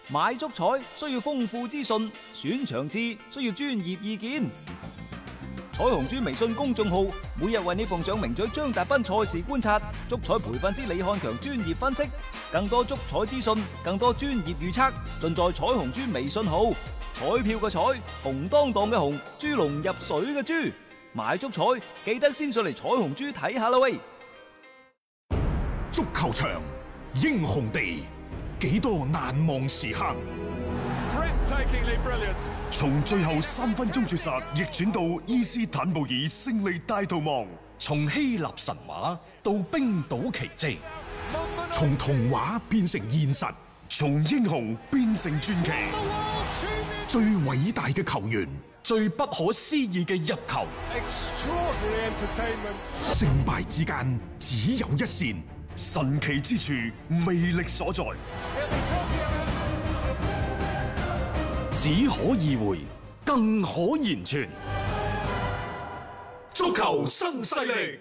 買足彩需要豐富資訊，選場次需要專業意見。彩虹豬微信公眾號每日為你奉上名嘴張達斌賽事觀察、足彩培訓師李漢強專業分析，更多足彩資訊、更多專業預測，盡在彩虹豬微信號。彩票嘅彩，紅當當嘅紅，豬籠入水嘅豬，買足彩記得先上嚟彩虹豬睇下啦喂！ 足球場，英雄地，幾多難忘時刻。從最後3分鐘絕殺逆轉到伊斯坦布爾勝利大逃亡， 從希臘神話到冰島奇蹟， 從童話變成現實，從英雄變成傳奇。最偉大嘅球員， 最不可思議嘅入球， 勝敗之間只有一線，神奇之處魅力所在。 只可意會，更可言傳。 足球新勢力。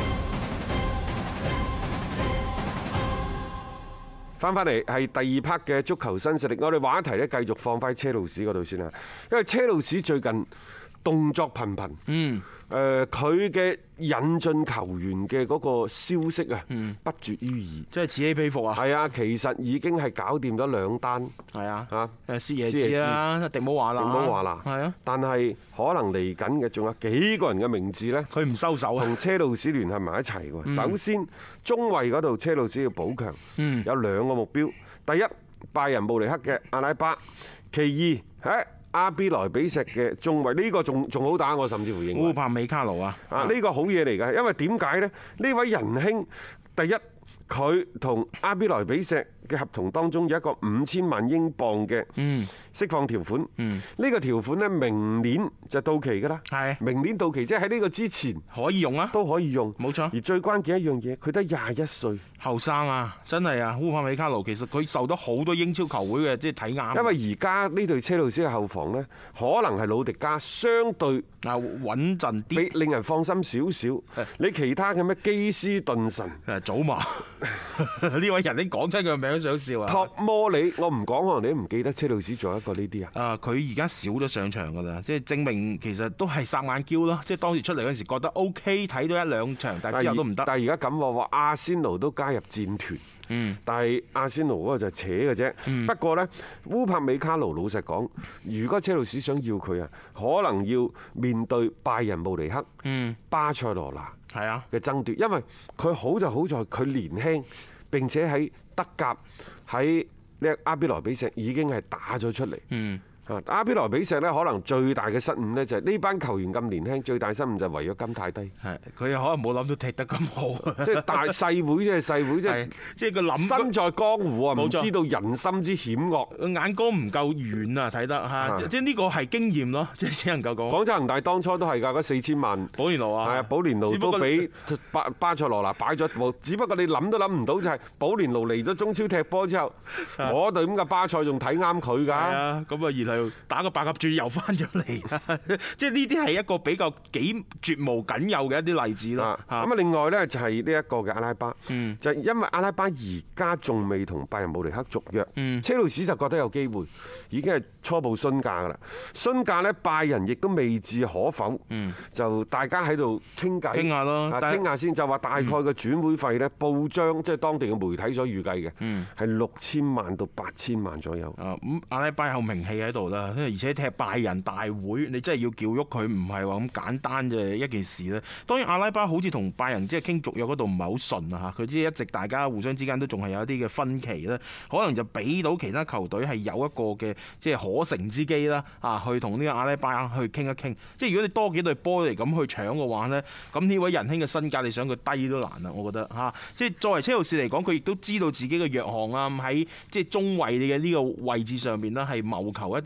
翻嚟係第2 part 嘅足球新勢力，我哋話一題咧，繼續放翻車路士嗰度先啦。因為車路士最近動作頻頻，佢嘅引進球員嘅嗰個消息啊，不絕於耳， 即係此起彼伏啊！ 係啊，其實已經係搞掂咗2單， 係啊， 嚇， 施耶治啦，迪姆華啦，係啊， 但係可能嚟緊嘅仲有幾個人嘅名字呢， 佢唔收手啊， 同車路士聯繫埋一齊喎。首先中衞嗰度車路士要補強，有2個目標，第一拜仁慕尼黑嘅阿拉巴，其二阿比萊比錫嘅中衞，呢個仲好打，我甚至乎認為烏柏美卡盧啊， 呢個好嘢嚟㗎，因為點解呢？呢位仁兄，第一佢同阿比萊比錫嘅合同當中有一個5000萬英鎊嘅釋放條款，呢個條款呢，明年就到期㗎啦，明年到期即係喺呢個之前可以用啊， 都可以用， 冇錯。 而最關鍵一樣嘢，佢得21歲， 後生啊，真係啊！烏柏美卡盧其實佢受到好多英超球會嘅即係睇啱， 因為而家呢隊車路士嘅後防呢，可能係魯迪加相對穩陣啲， 令人放心少少。你其他嘅咩基斯頓神、 祖馬呢位人你講出佢個名都想笑啊！ 托摩里，我唔講可能你都唔記得車路士仲有一個呢啲啊。 佢而家少咗上場㗎啦，即係證明其實都係霎眼嬌咯。即係當時出嚟嗰陣時覺得 OK， 睇到1-2場，但係之後都唔得。 但係而家咁話阿仙奴都加入戰團。但係阿仙奴嗰個就係扯嘅啫。不過呢，烏柏美卡盧老實講，如果車路士想要佢啊，可能要面對拜仁慕尼黑、巴塞羅那嘅爭奪，因為佢好就好在佢年輕，並且喺德甲喺呢阿比萊比錫已經係打咗出嚟。阿比萊比錫呢，可能最大嘅失誤呢，就係呢班球員咁年輕，最大失誤就係違約金太低。 係佢又可能冇諗到踢得咁好， 即係大細會，即係細會，即係佢諗身在江湖啊，唔知道人心之險惡， 眼光唔夠遠啊，睇得嚇，即係呢個係經驗咯，即係只能夠講。 廣州恒大當初都係㗎，嗰4000萬保連奴啊， 係啊，保連奴都俾巴塞羅那擺咗部，只不過你諗都諗唔到就係保連奴嚟咗中超踢波之後，嗰隊咁嘅巴塞仲睇啱佢㗎。係啊，咁啊然後打個白鴿轉又翻咗嚟，即係呢啲係一個比較幾絕無僅有嘅一啲例子咯。 咁啊，另外呢，就係呢一個嘅阿拉巴，就因為阿拉巴而家仲未同拜仁慕尼黑續約，車路士就覺得有機會，已經係初步詢價㗎啦。詢價呢，拜仁亦都未置可否，就大家喺度傾偈， 傾下咯， 傾下先，就話大概嘅轉會費呢，報章即係當地嘅媒體所預計嘅，係6000萬到8000萬左右。 咁阿拉巴有名氣喺度啦。而且踢拜仁大會，你真係要叫喐佢，唔係話咁簡單嘅一件事咧。當然阿拉巴好似同拜仁即係傾續約嗰度唔係好順啊嚇，佢即係一直大家互相之間都仲係有一啲嘅分歧咧，可能就俾到其他球隊係有一個嘅即係可乘之機啦啊，去同呢個阿拉巴去傾一傾。即係如果你多幾隊波嚟咁去搶嘅話呢，咁呢位仁兄嘅身價你想佢低都難啊，我覺得嚇。即係作為車路士嚟講，佢亦都知道自己嘅弱項啊，喺即係中衞嘅呢個位置上面呢，係謀求一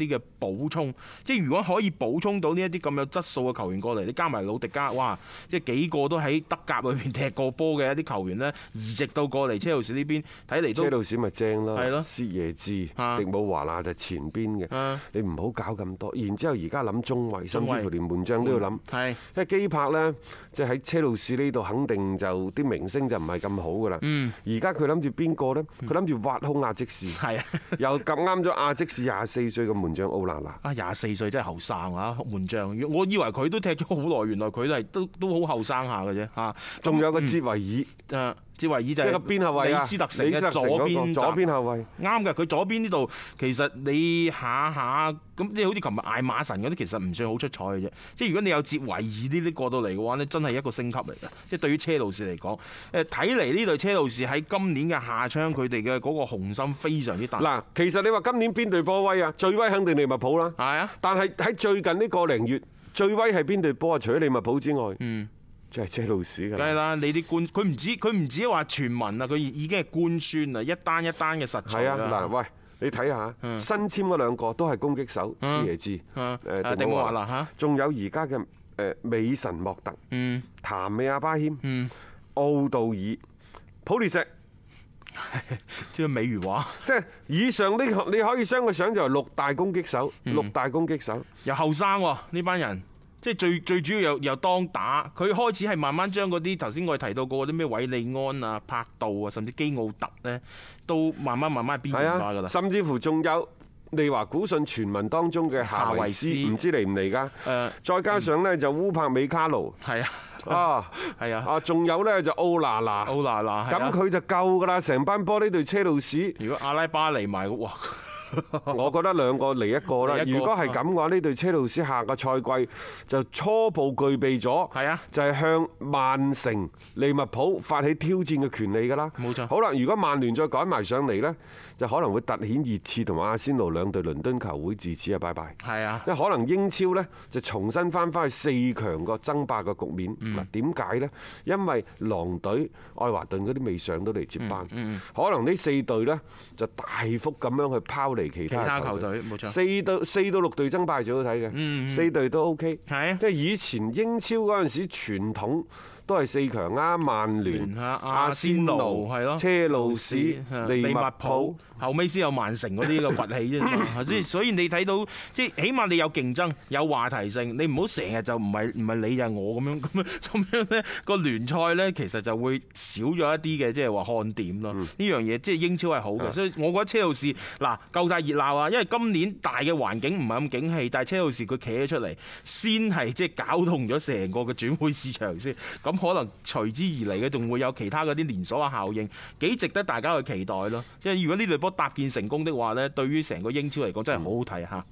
啲嘅補充。即係如果可以補充到呢一啲咁有質素嘅球員過嚟，你加埋魯迪加，哇！即係幾個都喺德甲裏邊踢過波嘅一啲球員呢，移植到過嚟車路士呢邊，睇嚟都車路士咪正咯， 係咯薛耶治、 啊迪姆華納就前邊嘅， 啊你唔好搞咁多。然之後而家諗中衞，甚至乎連門將都要諗。 係因為基柏呢，即係喺車路士呢度肯定就啲明星就唔係咁好噶啦。而家佢諗住邊個呢？佢諗住挖空亞積士， 係啊！ 又咁啱咗亞積士24歲嘅門將奧拿拿。 啊，24歲真係後生啊！門將，我以為佢都踢咗好耐，原來佢都好後生下嘅啫嚇。 仲有個哲維爾， 哲維爾就係一個邊後衞啊， 李斯特城嘅李斯特城左邊左邊後衞。 啱嘅，佢左邊呢度其實你下下咁，即係好似琴日艾馬神嗰啲，其實唔算好出彩嘅啫。即係如果你有哲維爾呢啲過到嚟嘅話呢，真係一個升級嚟嘅。即係對於車路士嚟講，睇嚟呢隊車路士喺今年嘅夏窗，佢哋嘅嗰個雄心非常之大。 嗱，其實你話今年邊隊波威啊？最威肯定利物浦啦。 係啊， 但係喺最近呢個零月，最威係邊隊波啊？除咗利物浦之外，就係車路士㗎。 梗係啦，你啲官佢唔止話傳聞啊，佢已經係官宣啦，一單一單嘅實在係啊，嗱，喂，你睇下新簽嗰兩個都係攻擊手，施耶治、 迪姆華拿嚇， 仲有而家嘅美神莫特、譚美亞巴謙、奧杜爾、普列石。 即係美如畫， 即係以上呢個你可以將佢想就係六大攻擊手，六大攻擊手又後生喎呢班人。即係最主要又當打，佢開始係慢慢將嗰啲頭先我哋提到過嗰啲咩韋利安啊、柏杜啊，甚至基奧特呢，都慢慢邊緣化㗎啦。 甚至乎仲有利華古遜傳聞當中嘅夏維斯，唔知嚟唔嚟㗎？再加上呢，就烏柏美卡奴， 係啊，係啊，仲有呢，就奧拿拿，咁佢就夠㗎啦！成班波呢隊車路士， 如果阿拉巴嚟埋，哇！ 我覺得兩個嚟一個啦。如果係咁嘅話，呢隊車路士下個賽季就初步具備咗，就係向曼城、利物浦發起挑戰嘅權利㗎啦。 冇錯。 好啦，如果曼聯再趕埋上嚟呢，就可能會突顯熱刺同埋阿仙奴兩隊倫敦球會自此啊拜拜。 係啊， 因為可能英超呢，就重新翻返去4強個爭霸嘅局面。嗱，點解呢？因為狼隊、愛華頓嗰啲未上到嚟接班，可能呢4隊呢，就大幅咁樣去拋離其他球隊。 冇錯。 4到6隊爭霸最好睇嘅，4隊都 OK。 係啊， 即係以前英超嗰陣時傳統。都係4強啊！曼聯、阿仙奴、車路士、利物浦， 後尾先有曼城嗰啲嘅崛起啫嘛。所以你睇到即係起碼你有競爭、有話題性，你唔好成日就唔係你就係我咁樣咧，個聯賽咧其實就會少咗一啲嘅即係話看點咯。呢樣嘢即係英超係好嘅，所以我覺得車路士嗱夠晒熱鬧啊！因為今年大嘅環境唔係咁景氣，但係車路士佢企咗出嚟，先係即係搞動咗成個嘅轉會市場先咁。可能隨之而嚟嘅，仲會有其他嗰啲連鎖嘅效應，幾值得大家去期待咯。即係如果呢隊波搭建成功的話呢，對於成個英超嚟講真係好好睇嚇。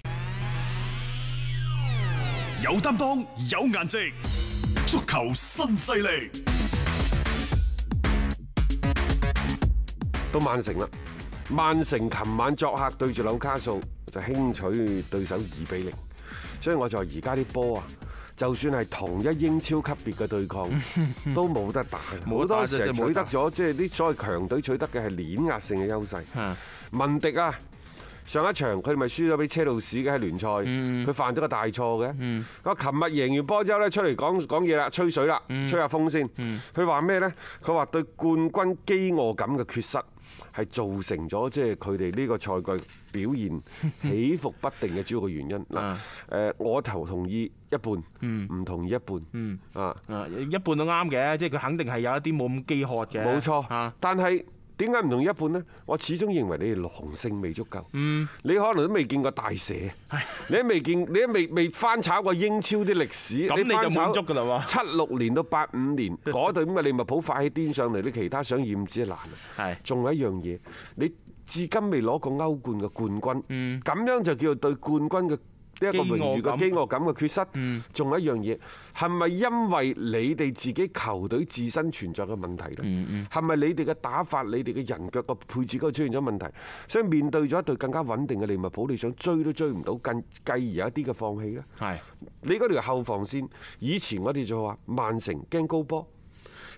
有擔當，有顏值，足球新勢力。 到曼城啦，曼城琴晚作客對住紐卡素就輕取對手2-0，所以我就話而家啲波啊。就算係同一英超級別嘅對抗，都冇得打。好多時係取得咗，即係啲所謂強隊取得嘅係碾壓性嘅優勢。文迪啊，上一場佢咪輸咗俾車路士嘅喺聯賽，佢犯咗個大錯嘅。佢琴日贏完波之後咧，出嚟講嘢啦，吹水啦，吹下風先。佢話咩呢？佢話對冠軍飢餓感嘅缺失係造成咗即係佢哋呢個賽季表現起伏不定嘅主要嘅原因。嗱，我同意一半，唔同意一半。 一半都啱嘅，即係佢肯定係有一啲冇咁飢渴嘅。 冇錯，但係點解唔同意一半呢？我始終認為你哋狼性未足夠。你可能都未見過大蛇，你都未翻炒過英超啲歷史。 咁你就滿足㗎啦喎 ！76年到85年嗰隊咁嘅利物浦發起癲上嚟，你其他想厭之難。仲有一樣嘢，你至今未攞過歐冠嘅冠軍，咁樣就叫做對冠軍嘅呢一個榮譽嘅飢餓感嘅缺失。仲有一樣嘢，係咪因為你哋自己球隊自身存在嘅問題呢？係咪你哋嘅打法、你哋嘅人腳個配置嗰度出現咗問題？所以面對咗一隊更加穩定嘅利物浦，你想追都追唔到，繼而有一啲嘅放棄呢？你嗰條後防線，以前我哋就話曼城驚高波。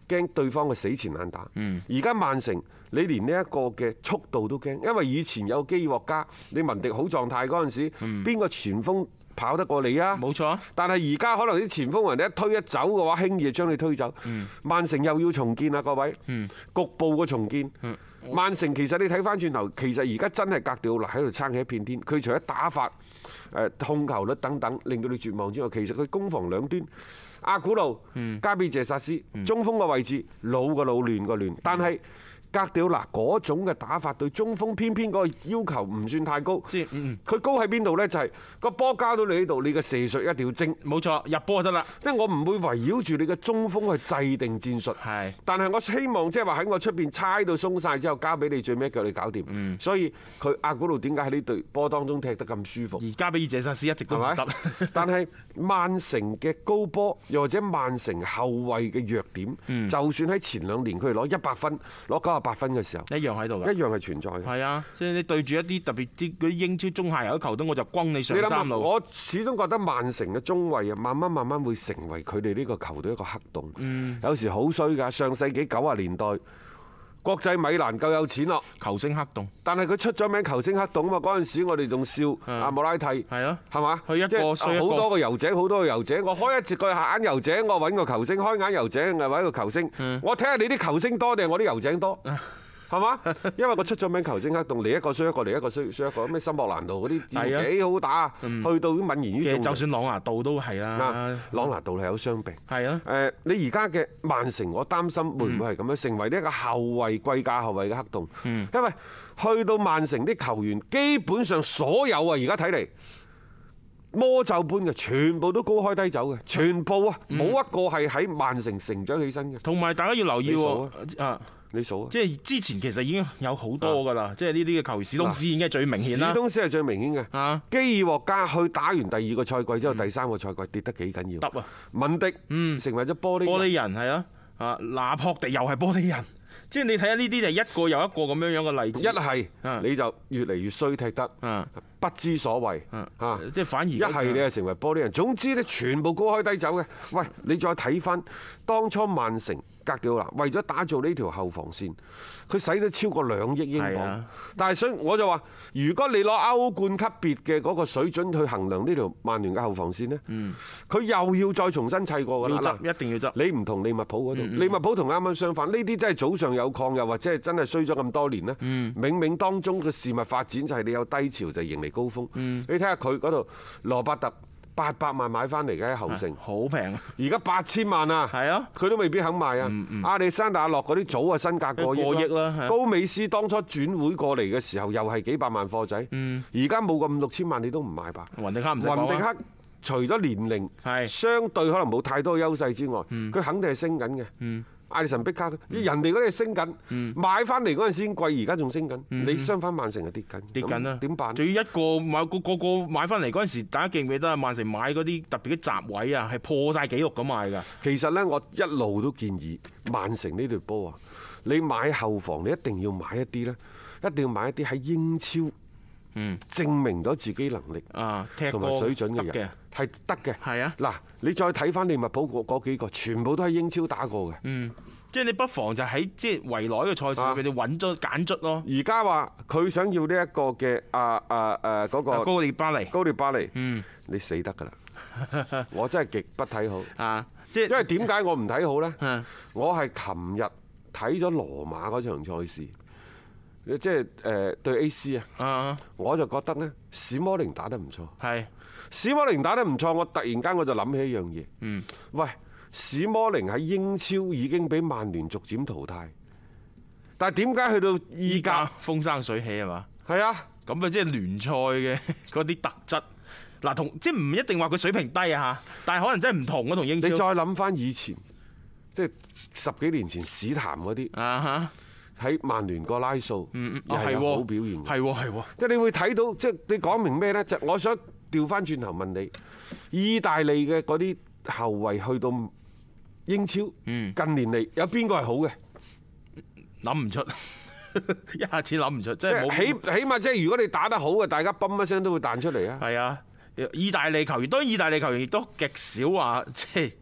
驚對方嘅死纏爛打。而家曼城你連呢一個嘅速度都驚，因為以前有基爾獲加，你文迪好狀態嗰陣時，邊個前鋒跑得過你啊？ 冇錯。 但係而家可能啲前鋒人哋一推一走嘅話，輕易就將你推走。曼城又要重建啦，各位，局部嘅重建。曼城其實你睇翻轉頭，其實而家真係格調嗱喺度撐起一片天。佢除咗打法、控球率等等令到你絕望之外，其實佢攻防兩端，阿古路、加比謝薩斯，中鋒嘅位置老嘅老，亂嘅亂，但係格調嗱嗰種嘅打法對中鋒偏偏嗰個要求唔算太高。佢高喺邊度呢？就係個波交到你呢度，你嘅射術一定要精。 冇錯，入波就得啦。 即係我唔會圍繞住你嘅中鋒去制定戰術。 係。 但係我希望即係話喺我出邊猜到鬆晒之後，交俾你最尾一腳你搞掂。所以佢阿古路點解喺呢隊波當中踢得咁舒服？ 而加比爾謝薩斯一直都唔得。 但係曼城嘅高波，又或者曼城後衞嘅弱點，就算喺前2年佢哋攞100分、攞98分嘅時候， 一樣喺度嘅， 一樣係存在嘅。 係啊，即係你對住一啲特別啲嗰啲英超中下游嘅球隊，我就轟你上三路。 我始終覺得曼城嘅中衞啊，慢慢會成為佢哋呢個球隊一個黑洞。有時好衰㗎，上世紀90年代。國際米蘭夠有錢咯， 球星黑洞。 但係佢出咗名球星黑洞啊嘛！嗰陣時我哋仲笑阿莫拉蒂，係啊， 係嘛？ 佢一個衰一個， 好多個油井，好多個油井。我開一節個眼油井，我揾個球星；開眼油井，我揾個球星。我睇下你啲球星多定係我啲油井多？係嘛？因為我出咗名球星黑洞，嚟一個衰一個，嚟一個衰一個。咩森莫蘭度嗰啲幾好打，去到泯然於眾人。 就算朗拿度都係啦， 朗拿度係有傷病。 係啊。 你而家嘅曼城，我擔心會唔會係咁樣成為呢一個後衞貴價後衞嘅黑洞？因為去到曼城啲球員，基本上所有啊，而家睇嚟魔咒般嘅，全部都高開低走嘅，全部啊，冇一個係喺曼城成長起身嘅。 同埋大家要留意喎， 你數啊！ 即係之前其實已經有好多㗎啦，即係呢啲嘅球員，史東斯已經係最明顯啦。 史東斯係最明顯嘅。基爾獲加去打完第2個賽季之後，第3個賽季跌得幾緊要。 得啊！ 文迪成為咗玻璃人係啊！拿破迪又係玻璃人。即係你睇下呢啲就一個又一個咁樣嘅例子。 一係你就越嚟越衰踢得，不知所謂嚇。 即係反而一係你係成為玻璃人。總之咧，全部高開低走嘅。喂，你再睇翻當初曼城。格調嗱，為咗打造呢條後防線，佢使咗超過2億英鎊。但係所以我就話，如果你攞歐冠級別嘅嗰個水準去衡量呢條曼聯嘅後防線呢，佢又要再重新砌過㗎啦。 一定要執。 你唔同利物浦嗰度，利物浦同啱啱相反，呢啲真係早上有礦，又或者係真係衰咗咁多年呢。冥冥當中嘅事物發展就係你有低潮就迎嚟高峰。你睇下佢嗰度羅伯特。800萬買翻嚟嘅喺後城， 好平。 而家8000萬啊，係啊，佢都未必肯賣啊。亞歷山大阿諾嗰啲早啊身價過億啦。高美斯當初轉會過嚟嘅時候又係幾百萬貨仔，而家冇個5、6千萬你都唔買吧？ 雲迪克唔使講。雲迪克除咗年齡相對可能冇太多優勢之外，佢肯定係升緊嘅。艾利臣碧卡，人哋嗰啲升緊，買翻嚟嗰陣時已經貴，而家仲升緊。你相反曼城係跌緊啦， 點辦？ 仲要一個買個買翻嚟嗰陣時，大家記唔記得啊？曼城買嗰啲特別嘅閘位啊，係破晒紀錄咁買㗎。 其實呢，我一路都建議曼城呢隊波啊，你買後防你一定要買一啲呢，一定要買一啲喺英超證明咗自己能力同埋水準嘅人。係得嘅，係啊！嗱，你再睇翻利物浦嗰幾個，全部都喺英超打過嘅。 即係你不妨就喺即係圍內嘅賽事佢哋揾咗揀卒咯。 而家話佢想要呢一個嘅嗰個高列巴黎， 你死得㗎啦！我真係極不睇好。 即係因為點解我唔睇好呢？我係琴日睇咗羅馬嗰場賽事，即係對 AC 啊，我就覺得呢，史摩寧打得唔錯。係。史摩寧打得唔錯，我突然間我就諗起一樣嘢。喂，史摩寧喺英超已經俾曼聯逐漸淘汰，但係點解去到意甲風生水起係嘛？ 係啊， 咁啊即係聯賽嘅嗰啲特質。嗱，同即係唔一定話佢水平低啊嚇，但係可能真係唔同啊同英超。 你再諗翻以前，即係10幾年前史譚嗰啲喺曼聯個拉素，又係好表現嘅。係即係你會睇到，即係你講明咩呢？就我想。調翻轉頭問你，意大利嘅嗰啲後衞去到英超，近年嚟有邊個係好嘅？ 諗唔出，一下子諗唔出，即係起碼即係如果你打得好嘅，大家嘣一聲都會彈出嚟啊！ 係啊，意大利球員當然意大利球員亦都極少話即係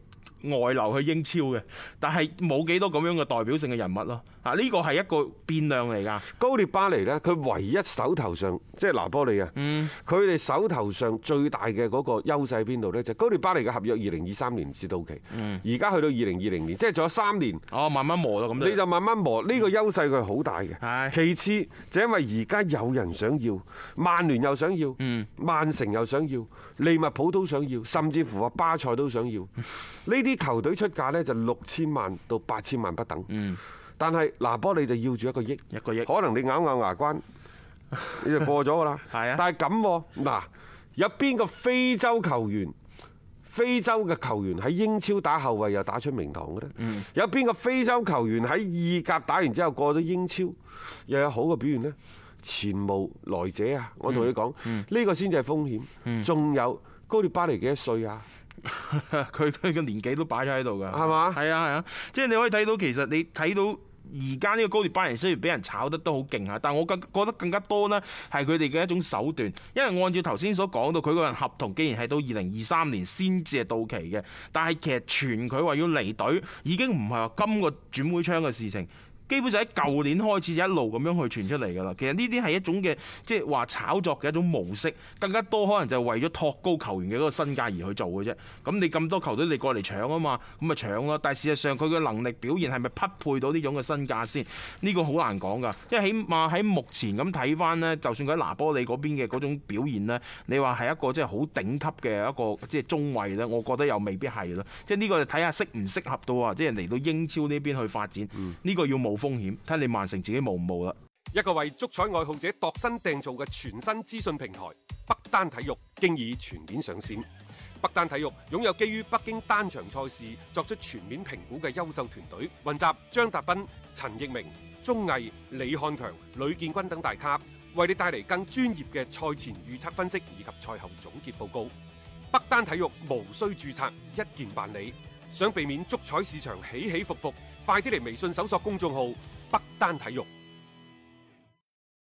外流去英超嘅，但係冇幾多咁樣嘅代表性嘅人物咯。啊，呢個係一個變量嚟㗎。 高列巴尼呢，佢唯一手頭上即係拿波利啊，佢哋手頭上最大嘅嗰個優勢喺邊度呢？就高列巴尼嘅合約2023年至到期，而家去到2020年，即係仲有3年。 哦，慢慢磨咯咁。 你就慢慢磨，呢個優勢佢係好大嘅。其次就因為而家有人想要，曼聯又想要，曼城又想要，利物浦都想要，甚至乎話巴塞都想要。呢啲球隊出價呢，就6000萬到8000萬不等。但係拿波利就要住1個億，可能你咬牙關，你就過咗㗎啦。係啊，但係咁嗱，有邊個非洲嘅球員喺英超打後衞又打出名堂嘅咧？有邊個非洲球員喺意甲打完之後過咗英超又有好嘅表現呢？前無來者啊！我同你講，呢個先至係風險。仲有高列巴尼幾多歲啊？ 佢嘅年紀都擺咗喺度㗎， 係嘛？ 係啊，即係你可以睇到，其實你睇到而家呢個高列巴尼雖然俾人炒得都好勁嚇，但我覺得更加多呢係佢哋嘅一種手段，因為按照頭先所講到，佢個人合同既然係到2023年先至係到期嘅，但係其實傳佢話要離隊已經唔係話今個轉會窗嘅事情。基本上喺舊年開始就一路咁樣去傳出嚟㗎啦。其實呢啲係一種嘅即係話炒作嘅一種模式，更加多可能就係為咗托高球員嘅嗰個身價而去做嘅啫。咁你咁多球隊你過嚟搶啊嘛，咁咪搶咯。但係事實上佢嘅能力表現係咪匹配到呢種嘅身價先？呢個好難講㗎。因為起碼喺目前咁睇翻呢，就算佢喺拿波利嗰邊嘅嗰種表現呢，你話係一個即係好頂級嘅一個即係中衞呢，我覺得又未必係咯。即係呢個就睇下適唔適合到啊，即係嚟到英超呢邊去發展。呢個要冒風險，睇你曼城自己冒唔冒啦。 一個為足彩愛好者度身訂造嘅全新資訊平台北單體育，經已全面上線。北單體育擁有基於北京單場賽事作出全面評估嘅優秀團隊，雲集張達斌、陳奕明、鐘毅、李漢強、呂建軍等大咖，為你帶嚟更專業嘅賽前預測分析以及賽後總結報告。北單體育無需註冊，一鍵辦理。想避免足彩市場起起伏伏，快啲嚟微信搜索公眾號北單體育。